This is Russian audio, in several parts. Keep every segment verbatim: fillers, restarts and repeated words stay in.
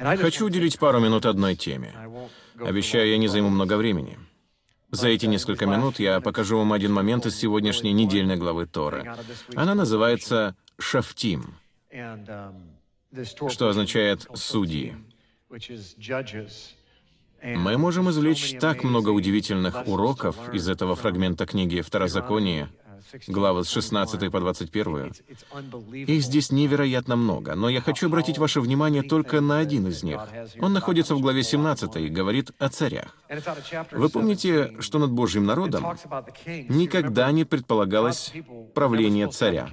Хочу уделить пару минут одной теме. Обещаю, я не займу много времени. За эти несколько минут я покажу вам один момент из сегодняшней недельной главы Торы. Она называется «Шафтим», что означает «судьи». Мы можем извлечь так много удивительных уроков из этого фрагмента книги Второзакония, главы с шестнадцатой по двадцать первую. Их здесь невероятно много, но я хочу обратить ваше внимание только на один из них. Он находится в главе семнадцатой и говорит о царях. Вы помните, что над Божьим народом никогда не предполагалось правление царя.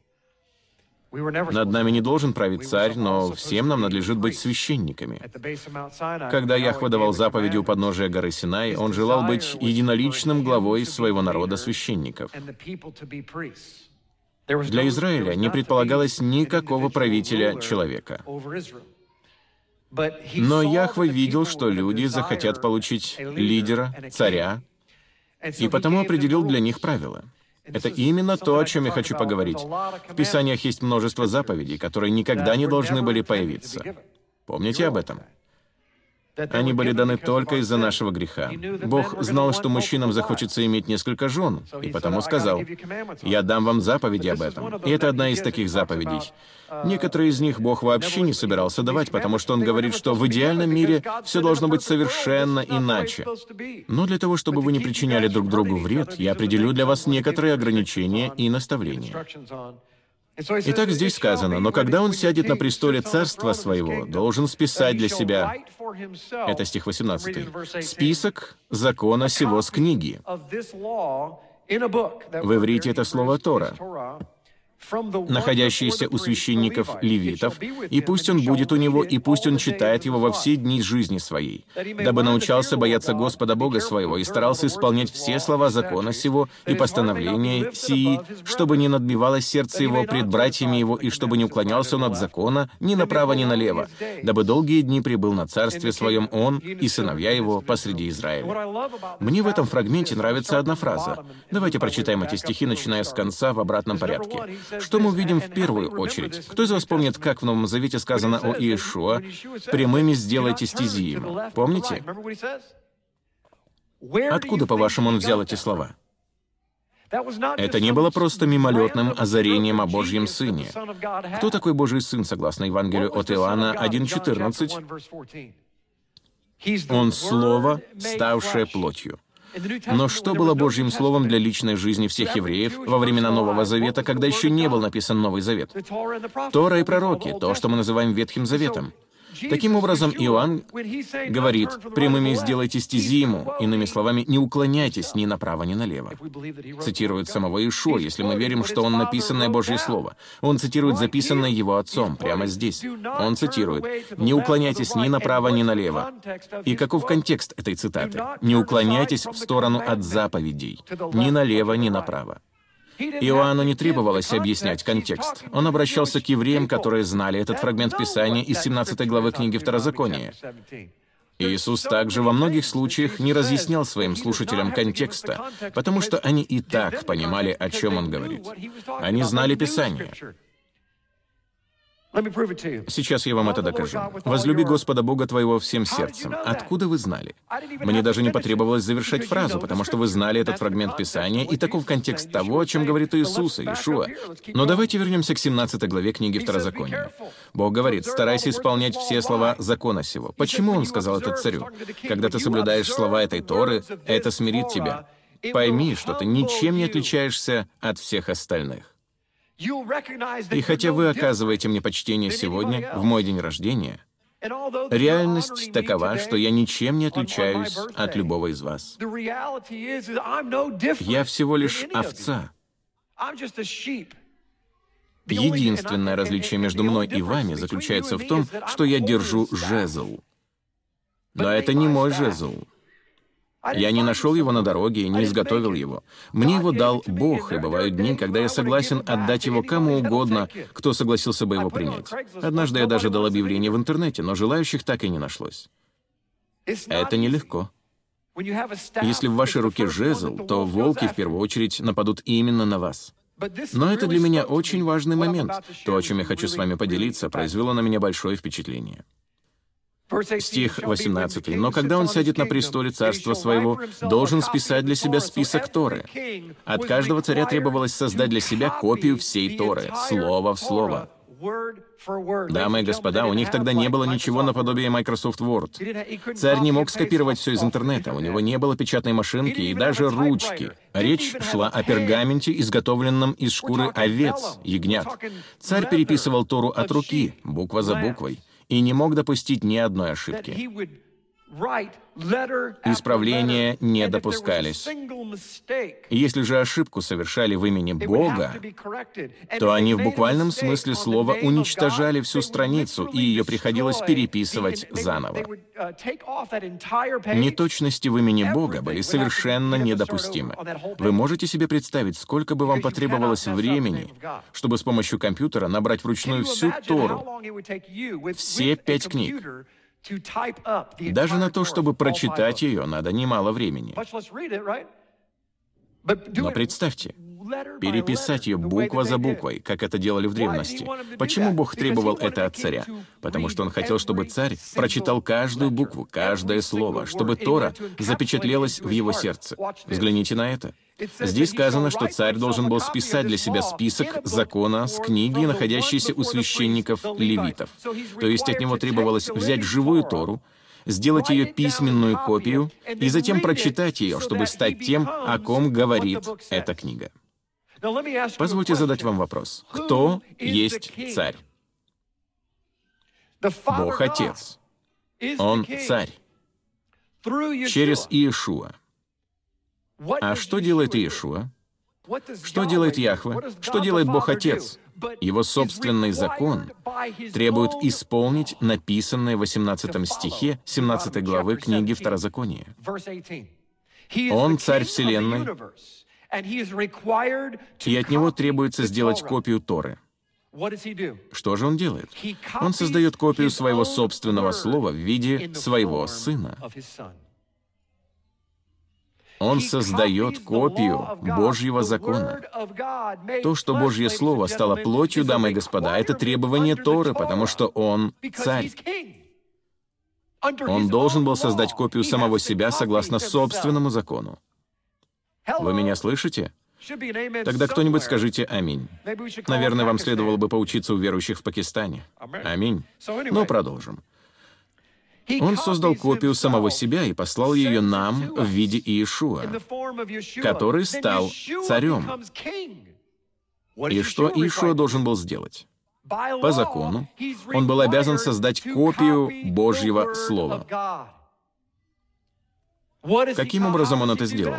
Над нами не должен править царь, но всем нам надлежит быть священниками. Когда Яхве давал заповеди у подножия горы Синай, он желал быть единоличным главой своего народа священников. Для Израиля не предполагалось никакого правителя человека. Но Яхве видел, что люди захотят получить лидера, царя, и потому определил для них правила. Это именно то, о чем я хочу поговорить. В Писаниях есть множество заповедей, которые никогда не должны были появиться. Помните об этом? Они были даны только из-за нашего греха. Бог знал, что мужчинам захочется иметь несколько жен, и потому сказал: «Я дам вам заповеди об этом». И это одна из таких заповедей. Некоторые из них Бог вообще не собирался давать, потому что Он говорит, что в идеальном мире все должно быть совершенно иначе. Но для того, чтобы вы не причиняли друг другу вред, я определю для вас некоторые ограничения и наставления. Итак, здесь сказано: «Но когда он сядет на престоле царства своего, должен списать для себя...» Это стих восемнадцатый. «Список закона сего с книги». В иврите это слово «Тора», находящийся у священников левитов, и пусть он будет у него, и пусть он читает его во все дни жизни своей, дабы научался бояться Господа Бога своего и старался исполнять все слова закона сего и постановления сии, чтобы не надбивалось сердце его пред братьями его, и чтобы не уклонялся он от закона ни направо, ни налево, дабы долгие дни пребыл на царстве своем он и сыновья его посреди Израиля. Мне в этом фрагменте нравится одна фраза. Давайте прочитаем эти стихи, начиная с конца в обратном порядке. Что мы увидим в первую очередь? Кто из вас помнит, как в Новом Завете сказано о Иешуа: «Прямыми сделайте стези ему»? Помните? Откуда, по-вашему, он взял эти слова? Это не было просто мимолетным озарением о Божьем Сыне. Кто такой Божий Сын, согласно Евангелию от Иоанна один четырнадцать? Он — Слово, ставшее плотью. Но что было Божьим Словом для личной жизни всех евреев во времена Нового Завета, когда еще не был написан Новый Завет? Тора и пророки, то, что мы называем Ветхим Заветом. Таким образом, Иоанн говорит: «Прямыми сделайте стези ему», иными словами, не уклоняйтесь ни направо, ни налево. Цитирует самого Иешуа, если мы верим, что он написанное Божье Слово. Он цитирует записанное его отцом, прямо здесь. Он цитирует: «Не уклоняйтесь ни направо, ни налево». И каков контекст этой цитаты? «Не уклоняйтесь в сторону от заповедей, ни налево, ни направо». Иоанну не требовалось объяснять контекст. Он обращался к евреям, которые знали этот фрагмент Писания из семнадцатой главы книги Второзакония. Иисус также во многих случаях не разъяснял своим слушателям контекста, потому что они и так понимали, о чем Он говорит. Они знали Писание. Сейчас я вам это докажу. «Возлюби Господа Бога твоего всем сердцем». Откуда вы знали? Мне даже не потребовалось завершать фразу, потому что вы знали этот фрагмент Писания, и таков контекст того, о чем говорит Иисус, Иешуа. Но давайте вернемся к семнадцатой главе книги Второзакония. Бог говорит: «Старайся исполнять все слова закона сего». Почему Он сказал это царю? Когда ты соблюдаешь слова этой Торы, это смирит тебя. Пойми, что ты ничем не отличаешься от всех остальных. И хотя вы оказываете мне почтение сегодня, в мой день рождения, реальность такова, что я ничем не отличаюсь от любого из вас. Я всего лишь овца. Единственное различие между мной и вами заключается в том, что я держу жезл. Но это не мой жезл. Я не нашел его на дороге и не изготовил его. Мне его дал Бог, и бывают дни, когда я согласен отдать его кому угодно, кто согласился бы его принять. Однажды я даже дал объявление в интернете, но желающих так и не нашлось. Это нелегко. Если в вашей руке жезл, то волки в первую очередь нападут именно на вас. Но это для меня очень важный момент. То, о чем я хочу с вами поделиться, произвело на меня большое впечатление. Стих восемнадцатый. «Но когда он сядет на престоле царства своего, должен списать для себя список Торы». От каждого царя требовалось создать для себя копию всей Торы, слово в слово. Дамы и господа, у них тогда не было ничего наподобие Microsoft Word. Царь не мог скопировать все из интернета, у него не было печатной машинки и даже ручки. Речь шла о пергаменте, изготовленном из шкуры овец, ягнят. Царь переписывал Тору от руки, буква за буквой, и не мог допустить ни одной ошибки. Исправления не допускались. Если же ошибку совершали в имени Бога, то они в буквальном смысле слова уничтожали всю страницу, и ее приходилось переписывать заново. Неточности в имени Бога были совершенно недопустимы. Вы можете себе представить, сколько бы вам потребовалось времени, чтобы с помощью компьютера набрать вручную всю Тору, все пять книг? Даже на то, чтобы прочитать ее, надо немало времени. Но представьте, переписать ее буква за буквой, как это делали в древности. Почему Бог требовал это от царя? Потому что Он хотел, чтобы царь прочитал каждую букву, каждое слово, чтобы Тора запечатлелась в его сердце. Взгляните на это. Здесь сказано, что царь должен был списать для себя список закона с книги, находящейся у священников-левитов. То есть от него требовалось взять живую Тору, сделать ее письменную копию и затем прочитать ее, чтобы стать тем, о ком говорит эта книга. Позвольте задать вам вопрос. Кто есть царь? Бог Отец. Он царь. Через Иешуа. А что делает Иешуа? Что делает Яхве? Что делает Бог Отец? Его собственный закон требует исполнить написанное в восемнадцатом стихе семнадцатой главы книги Второзакония. Он царь Вселенной, и от него требуется сделать копию Торы. Что же он делает? Он создает копию своего собственного слова в виде своего Сына. Он создает копию Божьего закона. То, что Божье Слово стало плотью, дамы и господа, это требование Торы, потому что Он царь. Он должен был создать копию самого себя согласно собственному закону. Вы меня слышите? Тогда кто-нибудь скажите «Аминь». Наверное, вам следовало бы поучиться у верующих в Пакистане. Аминь. Но продолжим. Он создал копию самого себя и послал ее нам в виде Иешуа, который стал царем. И что Иешуа должен был сделать? По закону, он был обязан создать копию Божьего Слова. Каким образом он это сделал?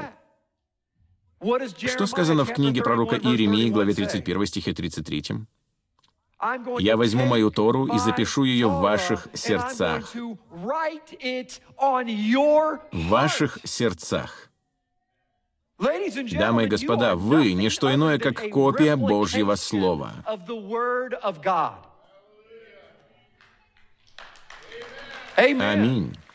Что сказано в книге пророка Иеремии, главе тридцать первой, стихе тридцать третьем? «Я возьму мою Тору и запишу ее в ваших сердцах». В ваших сердцах. Дамы и господа, вы — не что иное, как копия Божьего Слова. Аминь.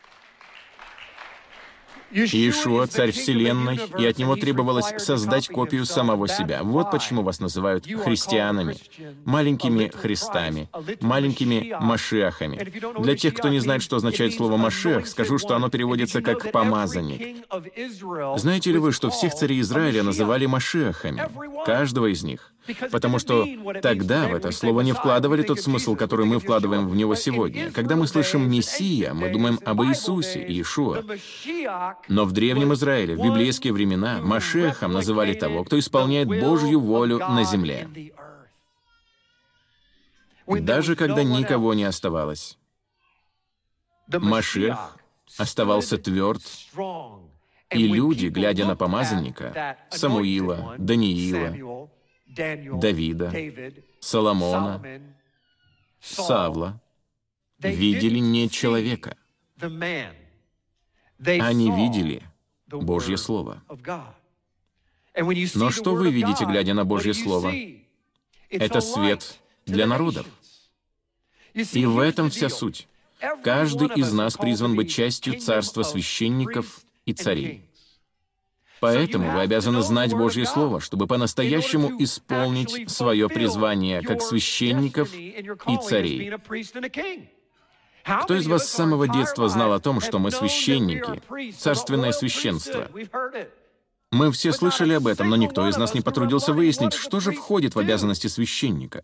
Иешуа — царь Вселенной, и от него требовалось создать копию самого себя. Вот почему вас называют христианами, маленькими Христами, маленькими Машиахами. Для тех, кто не знает, что означает слово «Машиах», скажу, что оно переводится как «помазанник». Знаете ли вы, что всех царей Израиля называли Машиахами? Каждого из них. Потому что тогда в это слово не вкладывали тот смысл, который мы вкладываем в него сегодня. Когда мы слышим «Мессия», мы думаем об Иисусе, Иешуа. Но в Древнем Израиле, в библейские времена, Машиахом называли того, кто исполняет Божью волю на земле. Даже когда никого не оставалось. Машиах оставался тверд, и люди, глядя на помазанника, Самуила, Даниила, Давида, Соломона, Савла, видели не человека. Они видели Божье Слово. Но что вы видите, глядя на Божье Слово? Это свет для народов. И в этом вся суть. Каждый из нас призван быть частью царства священников и царей. Поэтому вы обязаны знать Божье Слово, чтобы по-настоящему исполнить свое призвание как священников и царей. Кто из вас с самого детства знал о том, что мы священники, царственное священство? Мы все слышали об этом, но никто из нас не потрудился выяснить, что же входит в обязанности священника.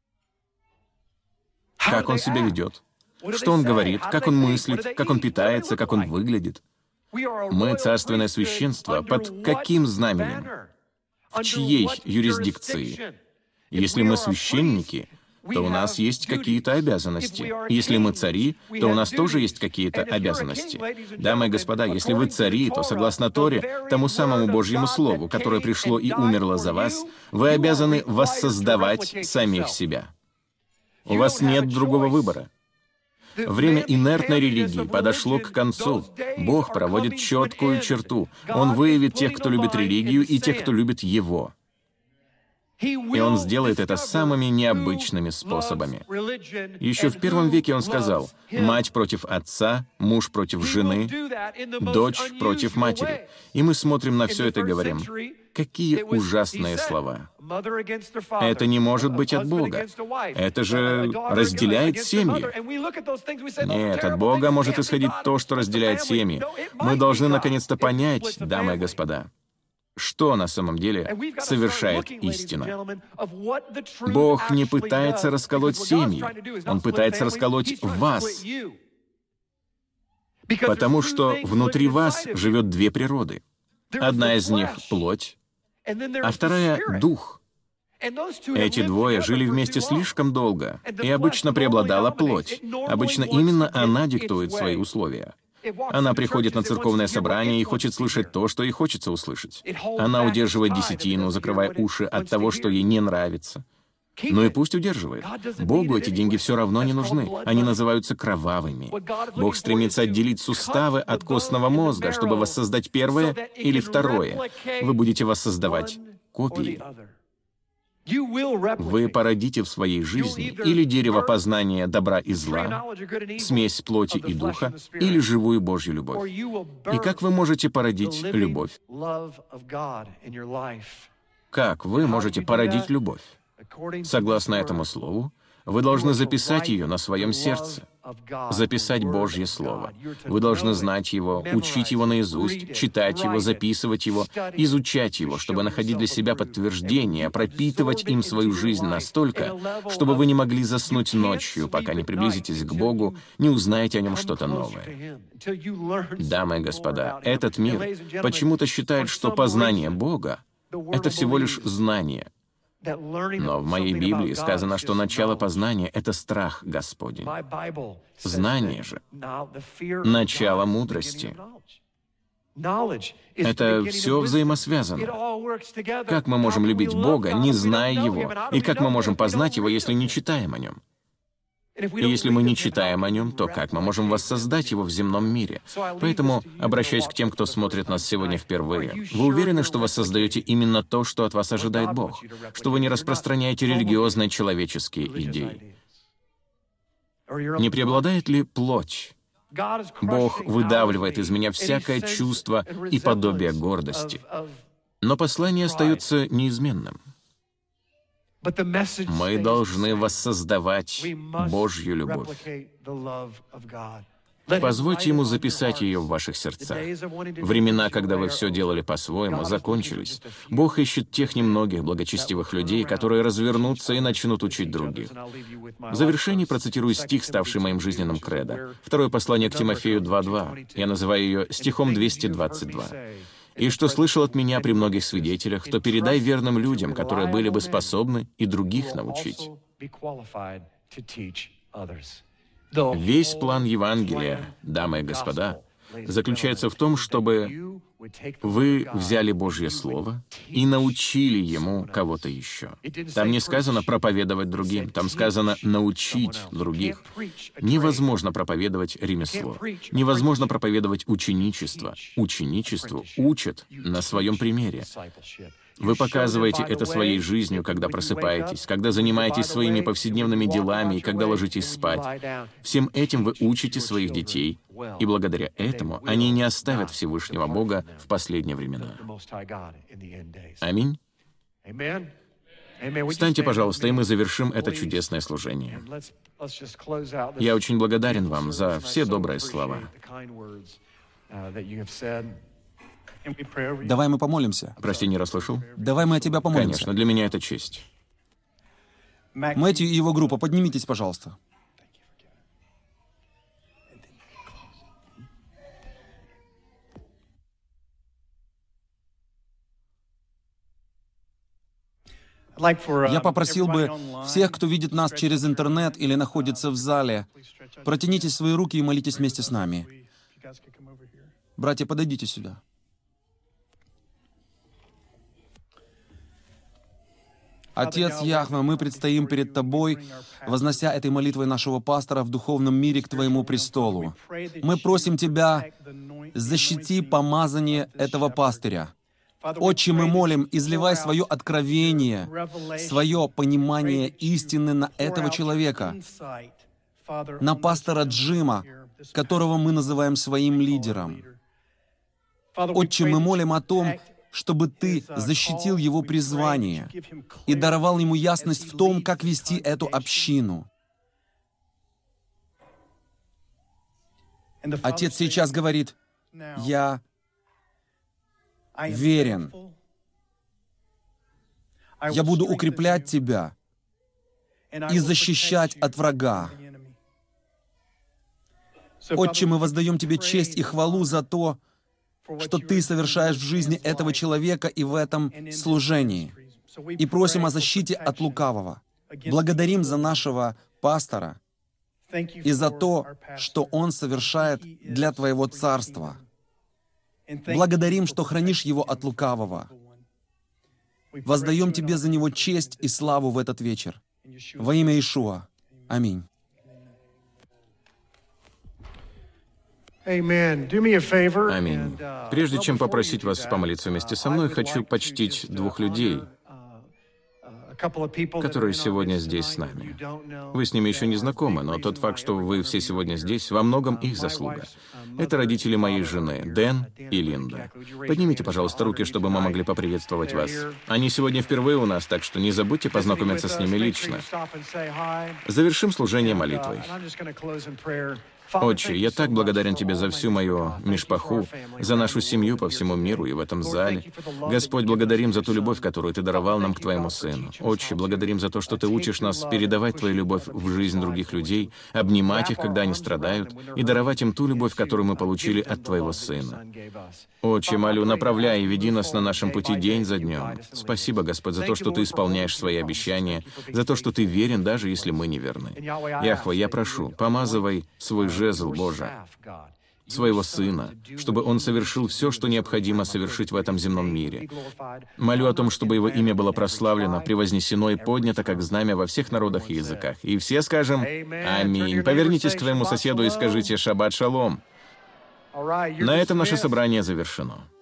Как он себя ведет, что он говорит, как он мыслит, как он питается, как он выглядит. Мы царственное священство под каким знаменем? В чьей юрисдикции? Если мы священники, то у нас есть какие-то обязанности. Если мы цари, то у нас тоже есть какие-то обязанности. Дамы и господа, если вы цари, то согласно Торе, тому самому Божьему Слову, которое пришло и умерло за вас, вы обязаны воссоздавать самих себя. У вас нет другого выбора. Время инертной религии подошло к концу. Бог проводит четкую черту. Он выявит тех, кто любит религию, и тех, кто любит Его. И Он сделает это самыми необычными способами. Еще в первом веке Он сказал: «Мать против отца, муж против жены, дочь против матери». И мы смотрим на все это и говорим: какие ужасные слова. Это не может быть от Бога. Это же разделяет семьи. Нет, от Бога может исходить то, что разделяет семьи. Мы должны наконец-то понять, дамы и господа, что на самом деле совершает истина. Бог не пытается расколоть семьи, Он пытается расколоть вас. Потому что внутри вас живет две природы. Одна из них — плоть, а вторая — дух. Эти двое жили вместе слишком долго, и обычно преобладала плоть. Обычно именно она диктует свои условия. Она приходит на церковное собрание и хочет слышать то, что ей хочется услышать. Она удерживает десятину, закрывая уши от того, что ей не нравится. Ну и пусть удерживает. Богу эти деньги все равно не нужны. Они называются кровавыми. Бог стремится отделить суставы от костного мозга, чтобы воссоздать первое или второе. Вы будете воссоздавать копии. Вы породите в своей жизни или дерево познания добра и зла, смесь плоти и духа, или живую Божью любовь. И как вы можете породить любовь? Как вы можете породить любовь? Согласно этому слову, вы должны записать ее на своем сердце. Записать Божье Слово. Вы должны знать его, учить его наизусть, читать его, записывать его, изучать его, чтобы находить для себя подтверждение, пропитывать им свою жизнь настолько, чтобы вы не могли заснуть ночью, пока не приблизитесь к Богу, не узнаете о нем что-то новое. Дамы и господа, этот мир почему-то считает, что познание Бога — это всего лишь знание. Но в моей Библии сказано, что начало познания — это страх Господень. Знание же — начало мудрости. Это все взаимосвязано. Как мы можем любить Бога, не зная Его? И как мы можем познать Его, если не читаем о Нем? И если мы не читаем о Нем, то как мы можем воссоздать Его в земном мире? Поэтому, обращаясь к тем, кто смотрит нас сегодня впервые, вы уверены, что вы создаете именно то, что от вас ожидает Бог? Что вы не распространяете религиозные человеческие идеи? Не преобладает ли плоть? Бог выдавливает из меня всякое чувство и подобие гордости. Но послание остается неизменным. Мы должны воссоздавать Божью любовь. Позвольте Ему записать ее в ваших сердцах. Времена, когда вы все делали по-своему, закончились. Бог ищет тех немногих благочестивых людей, которые развернутся и начнут учить других. В завершении процитирую стих, ставший моим жизненным кредо. Второе послание к Тимофею два два. Я называю ее стихом двести двадцать два. «И что слышал от меня при многих свидетелях, то передай верным людям, которые были бы способны и других научить». Весь план Евангелия, дамы и господа, заключается в том, чтобы вы взяли Божье Слово и научили ему кого-то еще. Там не сказано проповедовать другим, там сказано научить других. Невозможно проповедовать ремесло, невозможно проповедовать ученичество. Ученичеству учат на своем примере. Вы показываете это своей жизнью, когда просыпаетесь, когда занимаетесь своими повседневными делами и когда ложитесь спать. Всем этим вы учите своих детей, и благодаря этому они не оставят Всевышнего Бога в последние времена. Аминь. Встаньте, пожалуйста, и мы завершим это чудесное служение. Я очень благодарен вам за все добрые слова. Давай мы помолимся. Прости, не расслышал? Давай мы о тебя помолимся. Конечно, для меня это честь. Мэтью и его группа, поднимитесь, пожалуйста. Я попросил бы всех, кто видит нас через интернет или находится в зале, протяните свои руки и молитесь вместе с нами. Братья, подойдите сюда. Отец Яхве, мы предстоим перед Тобой, вознося этой молитвой нашего пастора в духовном мире к Твоему престолу. Мы просим Тебя, защити помазание этого пастыря. Отче, мы молим, изливай свое откровение, свое понимание истины на этого человека, на пастора Джима, которого мы называем своим лидером. Отче, мы молим о том, чтобы Ты защитил его призвание и даровал ему ясность в том, как вести эту общину. Отец сейчас говорит: «Я верен. Я буду укреплять тебя и защищать от врага». Отче, мы воздаем Тебе честь и хвалу за то, что Ты совершаешь в жизни этого человека и в этом служении. И просим о защите от лукавого. Благодарим за нашего пастора и за то, что он совершает для Твоего царства. Благодарим, что хранишь его от лукавого. Воздаем Тебе за него честь и славу в этот вечер. Во имя Иешуа. Аминь. Аминь. Прежде чем попросить вас помолиться вместе со мной, хочу почтить двух людей, которые сегодня здесь с нами. Вы с ними еще не знакомы, но тот факт, что вы все сегодня здесь, во многом их заслуга. Это родители моей жены, Дэн и Линда. Поднимите, пожалуйста, руки, чтобы мы могли поприветствовать вас. Они сегодня впервые у нас, так что не забудьте познакомиться с ними лично. Завершим служение молитвой. Отче, я так благодарен Тебе за всю мою мишпаху, за нашу семью по всему миру и в этом зале. Господь, благодарим за ту любовь, которую Ты даровал нам к Твоему Сыну. Отче, благодарим за то, что Ты учишь нас передавать Твою любовь в жизнь других людей, обнимать их, когда они страдают, и даровать им ту любовь, которую мы получили от Твоего Сына. Отче, молю, направляй и веди нас на нашем пути день за днем. Спасибо, Господь, за то, что Ты исполняешь свои обещания, за то, что Ты верен, даже если мы не верны. Яхве, я прошу, помазывай свой жезл, Боже, своего Сына, чтобы Он совершил все, что необходимо совершить в этом земном мире. Молю о том, чтобы Его имя было прославлено, превознесено и поднято, как знамя во всех народах и языках. И все скажем «Аминь». Повернитесь к своему соседу и скажите «Шаббат шалом». На этом наше собрание завершено.